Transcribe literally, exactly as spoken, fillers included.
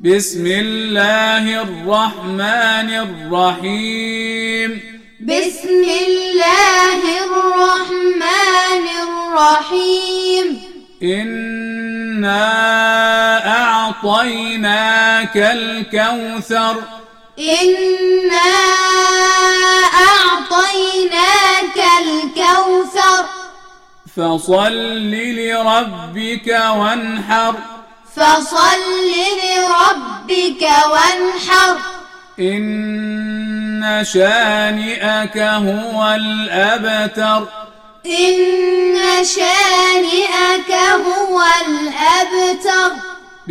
بسم الله الرحمن الرحيم بسم الله الرحمن الرحيم إنا أعطيناك الكوثر إنا أعطيناك الكوثر فصل لربك وانحر فصل لربك وانحر إن شانئك هو الأبتر إن شانئك هو الأبتر